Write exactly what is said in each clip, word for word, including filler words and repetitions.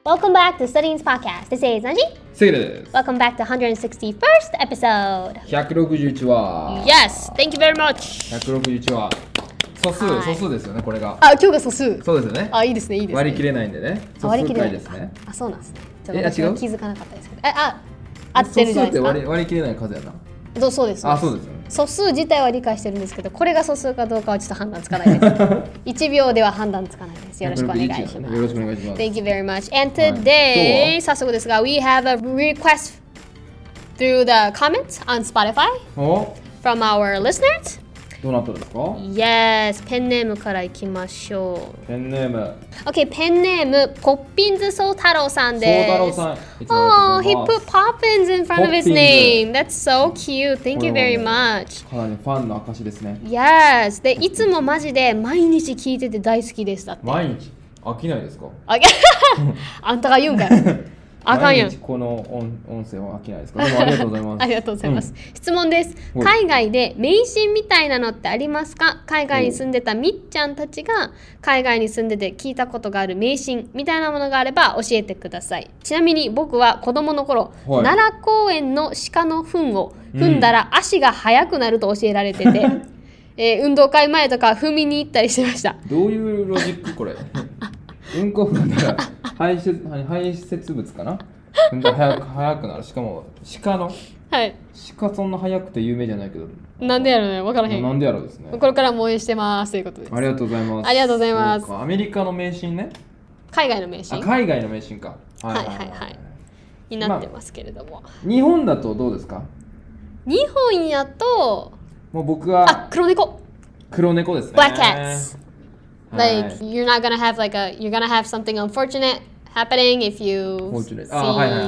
Welcome back to Studying's podcast. This is Anji. セイレです。 Welcome back to one hundred sixty-first episode. ひゃくろくじゅういち話。 Yes, thank you very much. ひゃくろくじゅういち話。素数、 はい素数ですよね、これが。 あ、今日が素数。 そうですよね。 あ、いいですね、いいですね。 割り切れないんでね。素数回ですね。 あ、そうなんですね。ちょえっと私あ違うは気づかなかったですけど。え、あ、合ってるじゃないです素数って割りか。 割り切れない数やな。 そうそうです。 あ、そうですよね。 素数自体は理解してるんですけど、これが素数かどうかはちょっと判断つかないです。いちびょうでは判断つかないです。よろしくお願いします。 よろしくお願いします。 Thank you very much. And はい today, 早速ですが、we have a request through the comments on Spotify お from our listeners. どうなったんですか Yes, ペンネームからいきましょペンネーム。 う。OK, ペンネーム、ポッピンズソウタロウさんです。 そう太郎さん。いつも Oh, あ he りがとう put ござい Poppins in front of his ポッピンズ name. That's so cute. Thank これ you は very もう much. かなりファンの証ですね。 Yes. で、いつもマジで毎日聞いてて大好きでしたって。 毎日飽きないですかああんたが言うんかい。あかんやん毎日。この音音声は飽きないですかでもありがとうございます。 ありがとうございます。質問です。 はい海外で迷信みたいなのってありますか？海外に住んでたみっちゃんたちが海外に住んでて聞いたことがある迷信みたいなものがあれば教えてください。ちなみに僕は子供の頃、 はい奈良公園の鹿の糞を踏んだら足が速くなると教えられてて、えー運動会前とか踏みに行ったりしてました。 どういうロジックこれうんこ踏んだら排泄排泄物かな踏んだら早く早くなる。しかも鹿のはい。 鹿そんな早くて有名じゃないけどなんでやろうね、わからへん。 なんでやろうですね。 これからも応援してますということです。 ありがとうございます。 ありがとうございますそうかアメリカの迷信ね。 海外の迷信あ海外の迷信か。 はいはいはいになってますけれども。 日本だとどうですか。 日本やと、 もう僕あ、 は黒猫。 黒猫ですね。 Black cats. はい Like, you're not gonna have like a, you're gonna have something unfortunate happening if you Fortunate. see あはいはいはい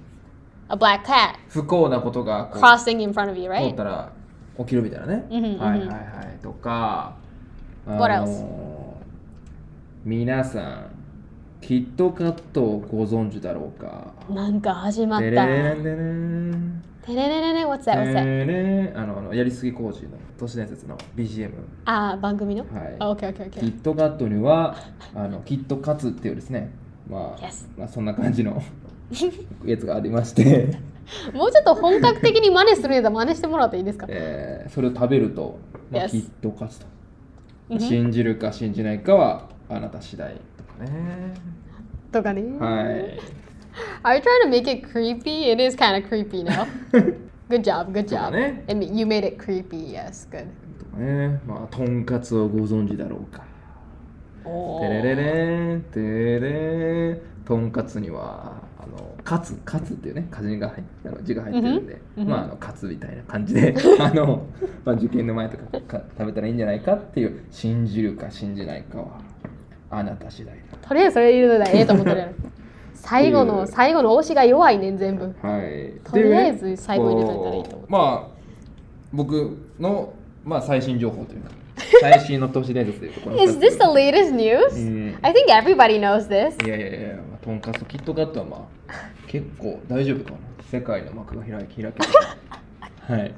a black cat 不幸なことがこう crossing in front of you, 通 right? ったら起きるみたいなね。 うんうんうんはいはいはいとか、あ What else？ の皆さんキットカットをご存知だろうか。 なんか始まっテた。 レレンデレンてれれれれ、what's that, what's テ that? レレンあのあのやりすぎ工事の都市伝説の ビージーエム。 あ、番組のはいあ、OK, OK, キ OK. ットカットにはあのキットカツっていうですね、まあ、 Yes. まあそんな感じのやつがありまして、 もうちょっと本格的に真似するんやったら真似してもらっていいですか？ えーそれを食べると、まあ Yes. キットカツと、 うん信じるか信じないかはあなた次第とかね。 とかね。 はい。 Are you trying to make it creepy? It is kind of creepy now. Good job, good とか job. ね。 And you made it creepy, yes, good. とかね。まあとんかつをご存知だろうか。 おテレレレンテレレンとんかつにはあのカツカツっていうね漢字が入ってあの字が入ってるんで、 うんうんまああのカツみたいな感じであの、まあ、受験の前とかか食べたらいいんじゃないかっていう信じるか信じないかはあなた次第とりあえずそれ入れるのがええと思ってるやろ。最後の最後の推しが弱いねん全部。 だ。はい。 とりあえず最後に入れといたらいいと思うこうまあ僕のまあ最新情報というか最新の都市伝説というところ Is this the latest news? うん I think everybody knows this. いやいやいや、まあ、とんかつキットカットはまあ結構大丈夫かな。世界の幕が開き開けてはい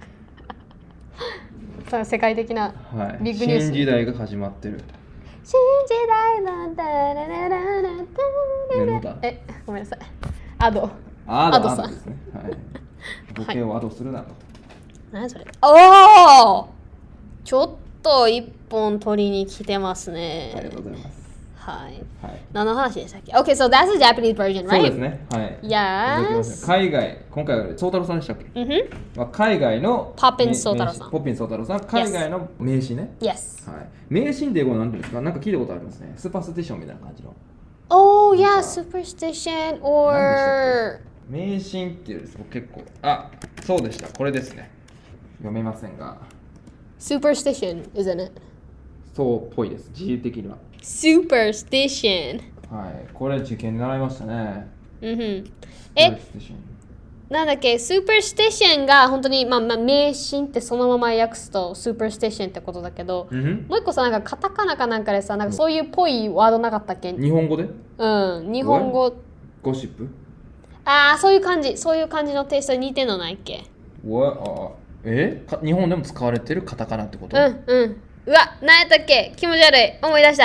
その世界的なはいビッグニュース。 新時代が始まってる。 新時代のダラララララ眠たえ、ごめんなさい。アド。 アアドさんドですね。はい。ボケをアドするなと。 何それ？おお！ちょっと一本取りに来てますね。 ありがとうございます。 はい。 はい。 何の話でしたっけ？ Okay, so that's the Japanese version, そう right? ですね。はい。 Yes. 海外、今回は宗太郎さんでしたっけ？ うんふん。 まあ、海外のポッピンめ宗太郎さん名ポッピン宗太郎さん、海外の名詞ね。 Yes. はい。名詞って英語は何て言うんですか？なんか聞いたことありますね。スーパースティションみたいな感じの。 Oh, yeah, なんか superstition or 迷信っていうです結構あそうでしたこれですね読めませんが superstition, isn't it? そうっぽいです自由的には Superstition. はいこれ受験で習いましたねうんふん。え、 Superstition なんだっけ、superstition が本当に、まあ、まあ、迷信ってそのまま訳すと superstition ってことだけど、 うんふんもう一個さ、なんかカタカナかなんかでさ、なんかそういうっぽいワードなかったっけ？ 日本語でうん、日本語。 ゴシップああ、そういう感じ、そういう感じのテイストに似てんのないっけ？ What? あえか日本でも使われてるカタカナってこと、 うんうん。うわ、何やったっけ？気持ち悪い。思い出したい。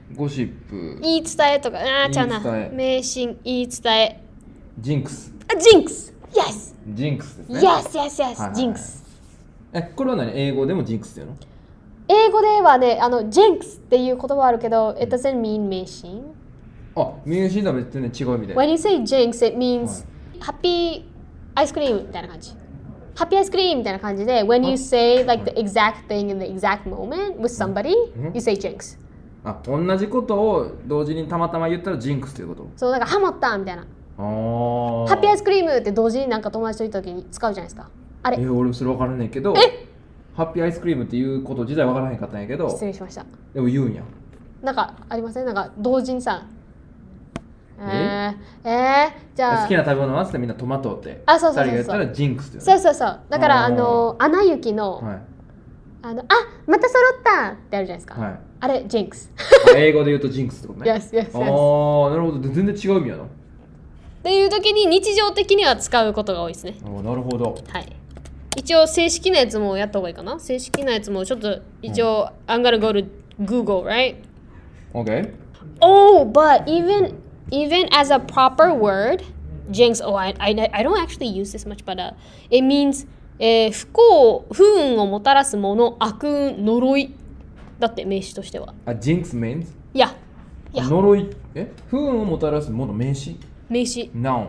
ゴシップ、 言い伝えとか、あーちゃうな。 言い伝え迷信、言い伝え。 ジンクス。 あ、ジンクス !Yes! ジンクスですね。 Yes, yes, はい yes! はいはいジンクス。 え、これは何？英語でもジンクスっていうの？ 英語ではね、あの、ジンクスっていう言葉あるけど、it doesn't mean 迷信。 あ、迷信とは別に違う意味で。 When you say jinx, it means happy ice cream みたいな感じ。ハッピーアイスクリームみたいな感じで、when you say like the exact thing in the exact moment with somebody, you say jinx. あ、同じことを同時にたまたま言ったらジンクスっていうこと？ そう、なんかハモったみたいな。 ああ。 ハッピーアイスクリームって同時になんか友達といた時に使うじゃないですか。あれ、 え、俺それ分からんねんけど、 えハッピーアイスクリームっていうこと自体分からへんかったんやけど、 失礼しました。 でも言うんや。 なんかありません？なんか同時にさ、ええー、えー、じゃあ好きな食べ物はってみんなトマトってあそうそうそうそう二人が言ったらジンクスって言そうそうそう。だからあーあのアナ雪の、 はいあのあまた揃ったってあるじゃないですか。 はい。 あれジンクス。 あ、英語で言うとジンクスってことね。 yes yes あ yes。 あ、なるほど。で全然違う意味やな。 っていう時に日常的には使うことが多いですね。 あー、なるほど。 はい。一応正式なやつもやった方がいいかな。正式なやつもちょっと一応、I'm gonna go to Google, right? OK? Oh, but even even as a proper word, jinx. Oh, I I, I don't actually use this much, but uh, it means えー、不幸、不運をもたらすもの、悪運、呪い。だって名詞としては。 あ、ジンクス means? いや、いや、 呪い。え、不運をもたらすもの、名詞？ 名詞。 Noun。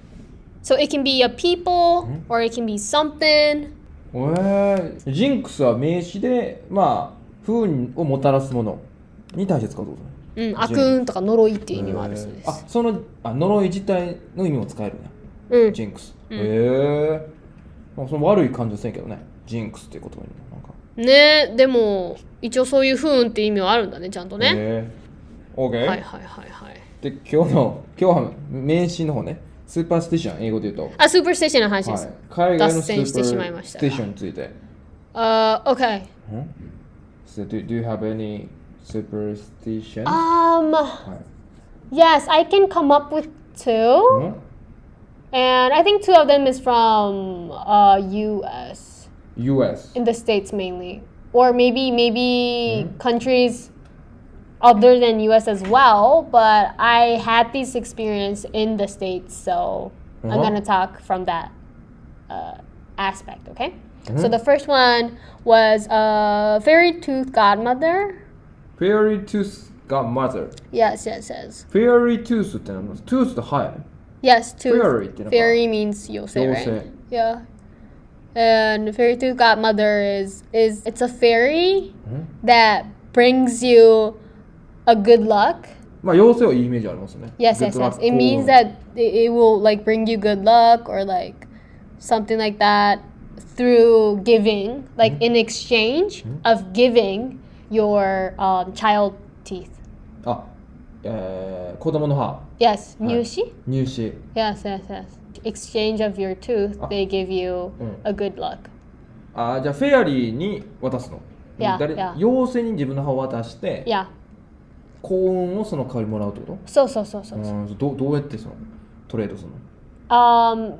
So it can be a people, or it can be something. えー、ジンクスは名詞で、まあ、不運をもたらすものに対して使うってことね。 うん、悪運とか呪いっていう意味もあるそうです。 あ、そのあ呪い自体の意味も使えるね。 うん。 ジンクス。へえー。その悪い感じはせんけどね。ジンクスっていう言葉になんか。 ね、でも一応そういう不運って意味はあるんだね、ちゃんとね。 へえー。OK。 はいはいはいはい。 で、今日の、今日は名詞の方ね。スーパースティション、英語で言うと。 あ、スーパーステーションの話ではいす。。 海外のスーパー脱線してしまいましたステーションについて。 あ、uh, OK。 ん So do, do you have any superstitions? Um, はい yes, I can come up with two. ん And I think two of them is from uh, U S, U S. in the States mainly. Or maybe, maybe countries other than U S as well. But I had this experience in the States, so I'm Uh-huh. going to talk from that uh, aspect, okay? So the first one was a fairy tooth godmother. Fairy tooth godmother. Yes, yes, yes. Fairy tooth って何？ tooth って歯やね。 Yes, tooth. Fairy ってなんか Fairy means yosei, right? 妖精。 Yeah. And fairy tooth godmother is is it's a fairy that brings you a good luck. まあ妖精はいいイメージありますね。 Yes, Good yes, luck, yes. It means 幸運 that it, it will like bring you good luck or like something like that through giving, like in exchange of giving your um, child teeth. あ、えー、子供の歯。 Yes, はい。 入試? 入試。 Yes, yes, yes. Exchange of your tooth, they give you a good luck. あ、じゃあフェアリーに渡すの。 Yeah, 誰 yeah. 妖精に自分の歯を渡して、 Yeah. 幸運をその代わりもらうってこと？ So, so, so, so. うん、どどうやってそのトレードするの？ Um,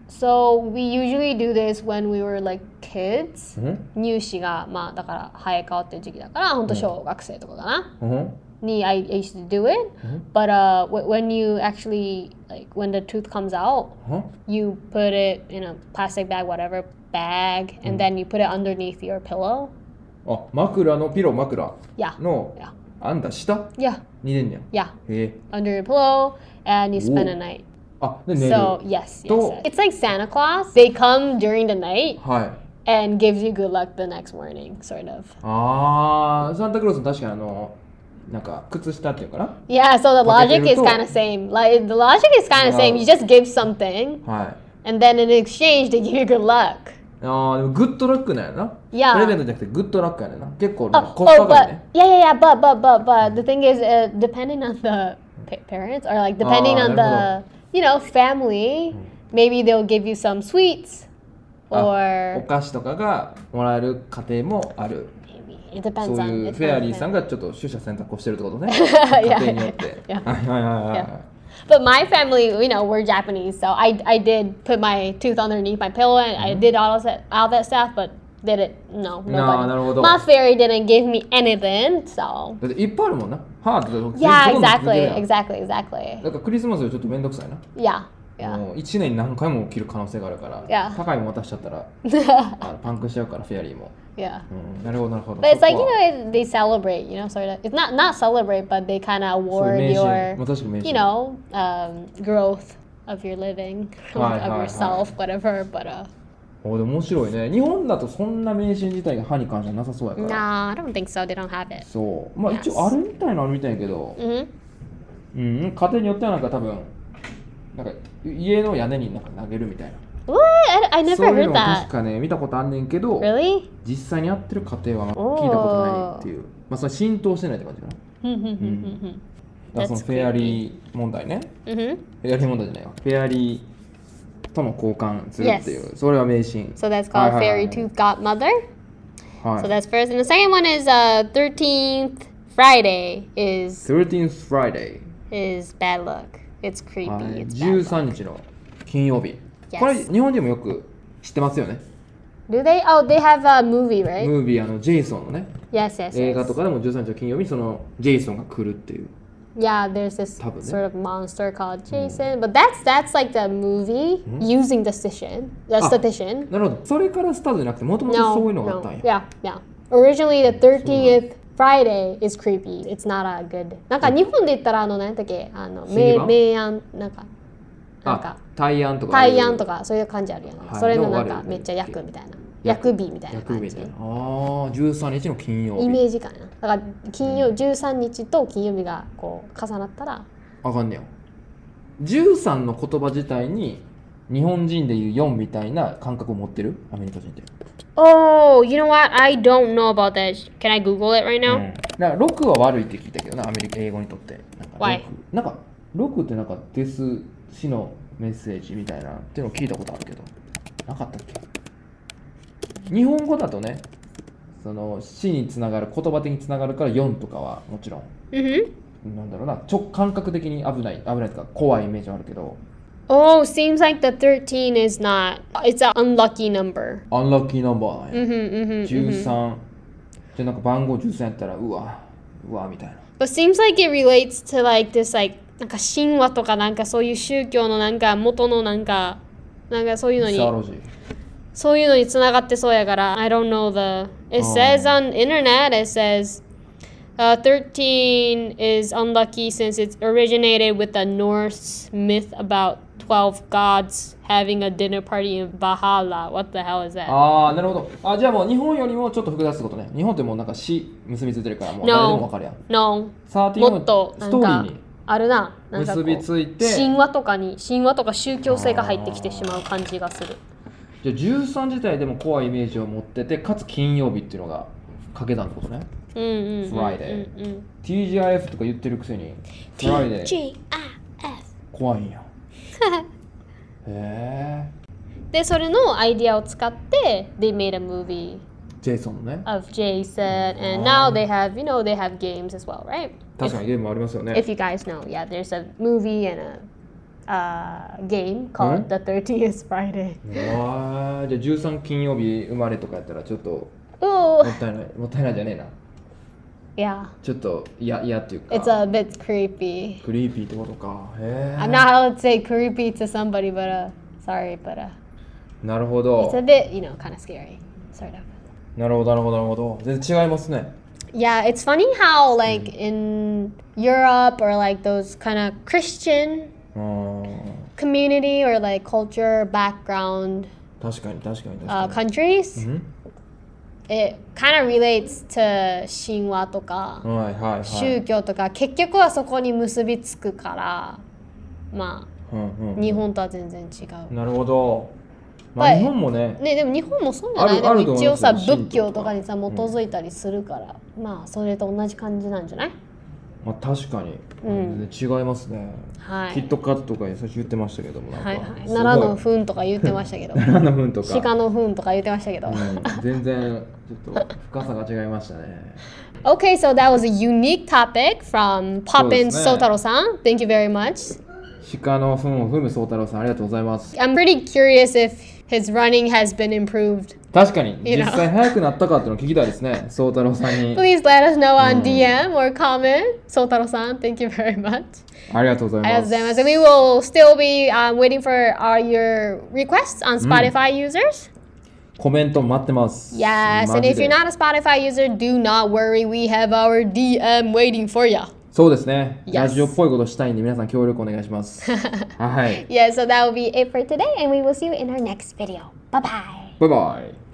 so we usually do this when we were like kids. うん入試がまあだから生え変わってる時期だから本当小学生とかかな、 うんに I used to do it. But uh, w- when you actually like when the tooth comes out, うん you put it in a plastic bag, whatever bag, and then you put it underneath your pillow. あ、枕のピロー枕 Yeah, の yeah, あんた下 yeah, に寝んねや。 yeah. へえ。 Under your pillow, and you spend a night. あ、で寝る。 So yes, yes, To- yes. It's like Santa Claus. They come during the night はい。 and gives you good luck the next morning, sort of. あー、サンタクロース確かにあの、なんか靴下っていうかな。 Yeah, so the logic is Potato. kind of same. Like the logic is kind of same. You just give something, はい。 and then in exchange they give you good luck. あー、でもグッドラックなんやな。 Yeah. プレゼントじゃなくてグッドラックやねんな。結構ね Oh, コスパ oh, がいい but ね。 yeah, yeah, yeah. But but but but the thing is, uh, depending on the pa- parents or like depending Ah, on the you know family, maybe they'll give you some sweets, あ、お or 菓子とかがもらえる家庭もある。 maybe it depends そう on. いう it's フェア not リーさん depend- がちょっと取捨選択をしてるってことね。 Yeah, 家庭によって。 yeah. はいはいはいはい。 Yeah. But my family, you know, we're Japanese, so I I did put my tooth underneath my pillow and I did all of that all that stuff. But did it. No, nobody. なあなるほど My fairy didn't give me anything, so. だっていっぱいあるもんな。ハートで Yeah, どんどん続ける exactly, やん exactly, exactly. だからクリスマスよりちょっとめんどくさいな。 Yeah, yeah. もういちねんに何回も起きる可能性があるから、 Yeah. 高いもん渡しちゃったらあのパンクしちゃうからフェアリーも、 Yeah. うん、なるほどなるほど。 But it's like, そ you こは know, it, they celebrate, you know, sort of. It's not not celebrate, but they kind of そう award 名刺 your, まあ確かに名刺 you know, um, growth of your living, Hi, of hi, yourself, whatever. But uh, おでも面白いね。日本だとそんな名刺自体が歯に関してはなさそうやから。 nah, I don't think so. They don't have it. そう。まあ Yes. 一応あるみたいなのあるみたいやけど、 Mm-hmm. うん、家庭によってはなんか多分、なんか家の屋根になんか投げるみたいな。 What? I, I そう never いうの heard も確 that. かね、見たことあんねんけど、 Really? 実際にやってる家庭は聞いたことないっていう。まあそれ浸透してないって感じかな。 Mm-hmm. だからその That's フェアリー問題ね。 Mm-hmm. フェアリー問題じゃないわ。フェアリーとの交換するっていう。それは迷信。 So that's はい called はいはい fairy tooth godmother. はい So that's first. And the second one is uh thirteenth Friday is thirteenth Friday。 is bad luck. It's creepy. はい It's じゅう bad さん luck. 日の金曜日。 Yes. これ日本人もよく知ってますよね。 Do they? Oh, they have a movie, right? ムービーあのジェイソンのね、 Yes, yes, 映画と yes. かでもじゅうさんにちの金曜日にそのジェイソンが来るっていう。 Yeah, there's this 多分ね。 sort of monster called Jason, but that's that's like the movie using the statistician. The あ statistician. なるほど。それからスタートじゃなくてもともとそういうの No, があったん no. や。 Yeah, yeah. Originally, the thirtieth Friday is creepy. It's not a good. なんか日本で言ったらあの何だっけあの明シリバン明暗なんかなんあか、 大安とか。 大安とかそういう感じあるやん。 はいそれのなんのがあるよねかめっちゃ役みたいな。 役役日みたいな感じ役日みたい。な。ああ、じゅうさんにちの金曜日。 イメージかな。だから金曜じゅうさんにちと金曜日がこう重なったら。 あかんねや。じゅうさんの言葉自体に日本人でいうよんみたいな感覚を持ってるアメリカ人って。 Oh, you know what? I don't know about that. Can I Google it right う now? ん、だからろくは悪いって聞いたけどな、アメリカ英語にとって。なんか Why？ なんかろくってなんかデス死のメッセージみたいなっていうのを聞いたことあるけど、なかったっけ。日本語だとね、その死につながる、言葉的につながるからよんとかはもちろん、 Mm-hmm. なんだろうな、直感覚的に危ない、危ないとか怖いイメージはあるけど、 Oh, seems like the thirteen is not. It's an unlucky number. アンラッキーナンバーなんや。 Mm-hmm, mm-hmm, じゅう mm-hmm. さん、じゃあなんか番号じゅうさんやったら、うわ、うわみたいな。 But seems like it relates to like this like なんか神話とかなんかそういう宗教のなんか元のなんかなんかそういうのにサーロジー。 そういうのにつながってそうやから I don't know the it says on internet it says uh, thirteen is unlucky since it originated with the Norse myth about twelve gods having a dinner party in Valhalla. What the hell is that? ああ、なるほど。あ、じゃあもう日本よりもちょっと複雑ってことね。日本ってもうなんか死結びついてるからもう誰でもわかるやん。 No. サーティンもっとスなんかトーリーにあるな。なんかこう結びついて、 神話とかに神話とか宗教性が入ってきてしまう感じがする。 じゃあじゅうさん自体でも怖いイメージを持ってて、かつ金曜日っていうのが掛け算ってことね。 うんうんうんうんうん Friday。ティージーアイエフ とか言ってるくせに、Friday T G I F 怖いんや。へえ。 でそれのアイディアを使って they made a movie ジェイソンのね。 of Jason and now they have you know they have games as well, right? 確かにゲームもありますよね。 If you guys know, yeah, there's a movie and a uh, game called The thirtieth Friday. わあ、じゃあじゅうさん金曜日生まれとかやったらちょっと Ooh, もったいない、もったいないじゃねえな。 yeah, ちょっと嫌嫌っていうか。 it's a bit creepy. クリーピーってことか。へえ。 I'm not allowed to say creepy to somebody, but uh, sorry, but uh, なるほど it's。a bit, you know, kind of scary, sort of. なるほど、なるほど、なるほど。全然違いますね。 Yeah, it's funny how like in Europe or like those kind of Christian うーん。 community or like culture background 確かに、確かに、 uh, 確かに。 countries, うん it kind of relates to 神話とかはいはいはい。 宗教とか結局はそこに結びつくからまうんうん、 あ日本とは全然違う。 なるほど。まあ、 But- 日本もね、 ね、でも日本もそうじゃない？ あるあると思いますよでも一応さ神道とか仏教とかにさ基づいたりするから、まあそれと同じ感じなんじゃない？ まあ、確かに、 うん全然違いますね。 はいキットカットとか最初言ってましたけども、なんか、 はいはい、 すごい奈良の糞とか言ってましたけど奈良の糞とか、 鹿の糞とか言ってましたけど、 うん、全然ちょっと深さが違いましたね。 Okay, so that was a unique topic from Poppin そうですね。 Sotaro-san. Thank you very much. 鹿の糞を踏む宗太郎さん、ありがとうございます。 I'm pretty curious if his running has been improved. 確かに You know. 実際速くなったかっていうのを聞きたいですね、宗太郎さんに。 Please let us know on うん D M or comment. Sotaro-san, thank you very much. ありがとうございます。 ありがとうございます。And we will still be、um, waiting for all your requests on Spotify users. コメント待ってます。 Yes, マ and ジ if で you're not a Spotify user, do not worry. We have our D M waiting for you. そうですね、 Yes. ラジオっぽいことしたいんで皆さん協力お願いしますはい、 Yeah, so that will be it for today, and we will see you in our next video. Bye bye. バイバイ。